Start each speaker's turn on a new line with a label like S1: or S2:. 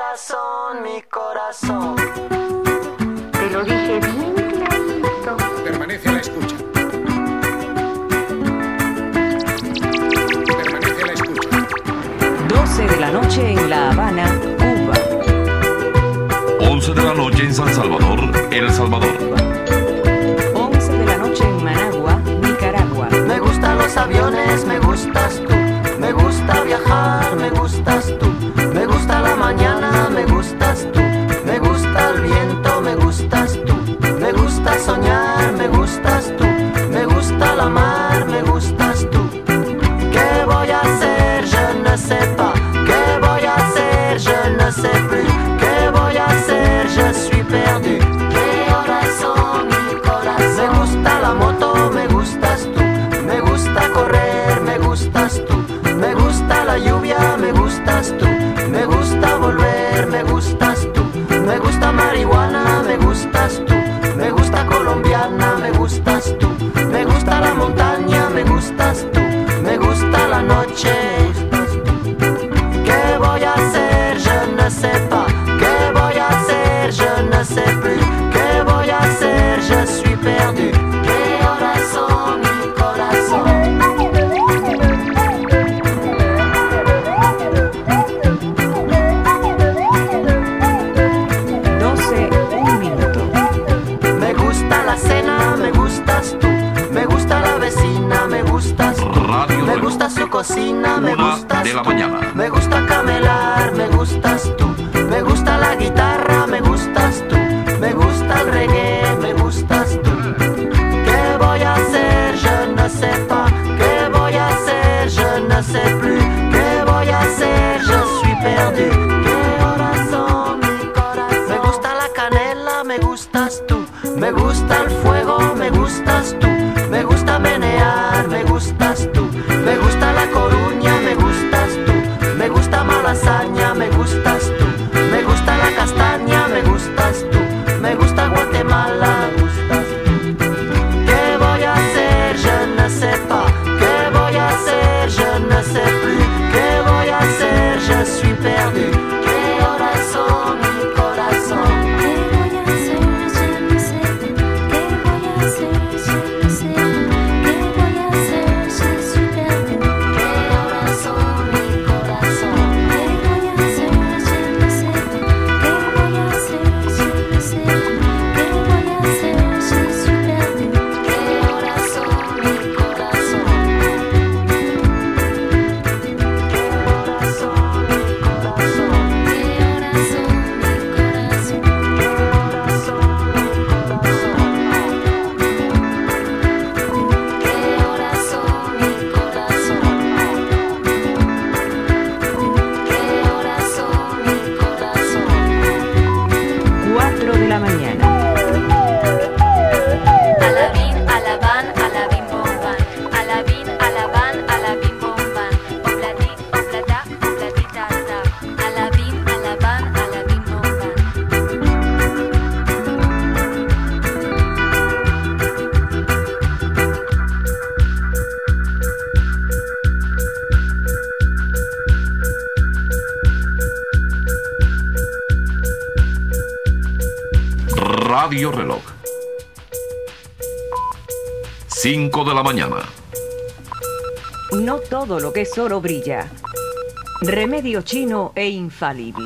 S1: corazón, mi corazón.
S2: Te lo dije bien clarito.
S3: Permanece a la escucha. Permanece a la escucha.
S4: 12 de la noche en La Habana, Cuba.
S5: 11 de la noche en San Salvador, El Salvador.
S4: 11 de la noche en Managua, Nicaragua.
S1: Me gustan los aviones, me gustas tú. Me gusta viajar, me gustas tú. Me gusta la mañana, me gustas tú. Me gusta el viento, me gustas tú. Me gusta soñar, me gustas tú. Me gusta la mar, me gustas tú. ¿Qué voy a hacer? Je ne sais pas. ¿Qué voy a hacer? Je ne sais plus. ¿Qué voy a hacer? Je suis perdu. ¿Qué horas son, mi corazón? Me gusta la moto, me gustas tú. Me gusta correr, me gustas tú. Me gusta la lluvia, me gustas tú. Me gusta volver, me gustas tú. Me gusta marihuana, me gustas tú. Me gusta colombiana, me gustas tú. Me gusta la montaña, me gustas tú. Me gusta la noche. ¿Qué voy a hacer? Je ne sais pas. ¿Qué voy a hacer? Je ne sais plus. ¿Qué voy a hacer? Je suis perdu. ¿Qué horas son, mi corazón?
S4: 12, un minuto.
S1: Me gusta la cena, me gustas tú. Me gusta la vecina, me gustas tú.
S5: Radio
S1: Me
S5: Reloj.
S1: gusta su cocina, me
S5: 1
S1: gustas
S5: de la
S1: tú.
S5: mañana.
S1: Me gusta camelar, me gustas tú. Me gusta la guitarra, me gustas tú. Me gusta el reggae, me gustas tú. ¿Qué voy a hacer? Je ne sais pas. ¿Qué voy a hacer? Je ne sais plus. ¿Qué voy a hacer? Je suis perdu. ¿Qué horas son, mi corazón? Me gusta la canela, me gustas tú. Me gusta el fuego, me gustas tú. Me gusta menear, me gustas tú. Me gusta la Coruña, me gustas tú. Me gusta Malasaña, me gustas tú. Me gusta la castaña, me gustas tú. Me gusta Guatemala, me gustas tú. ¿Qué voy a hacer? Je ne sais pas. ¿Qué voy a hacer? Je ne sais plus. ¿Qué voy a hacer? Je suis perdu. ¿Qué horas son, mi corazón?
S2: ¿Qué voy a hacer? Je ne sais plus. ¿Qué voy a hacer? Je ne sais plus. ¿Qué voy a hacer? Je suis perdu.
S1: ¿Qué horas son, mi corazón?
S2: ¿Qué voy a hacer? Je ne sais plus. ¿Qué voy a hacer? Je ne sais plus. ¿Qué voy a hacer? Je suis perdu.
S1: ¿Qué horas son, mi corazón? ¿Qué horas son, mi corazón?
S2: ¿Qué horas son, mi corazón?
S1: ¿Qué horas son, mi corazón? ¿Qué horas son, mi corazón? ¿Qué horas son, mi corazón?
S4: 4 de la mañana.
S2: Alabín, alabán, alabín, bombán. Alabín, alabán, alabín, bombán. Oblatí, oblatá, oblatitata. Alabín, alabán, alabín, bombán.
S5: Radio Reloj. 5 de la mañana.
S4: No todo lo que es oro brilla. Remedio chino e infalible.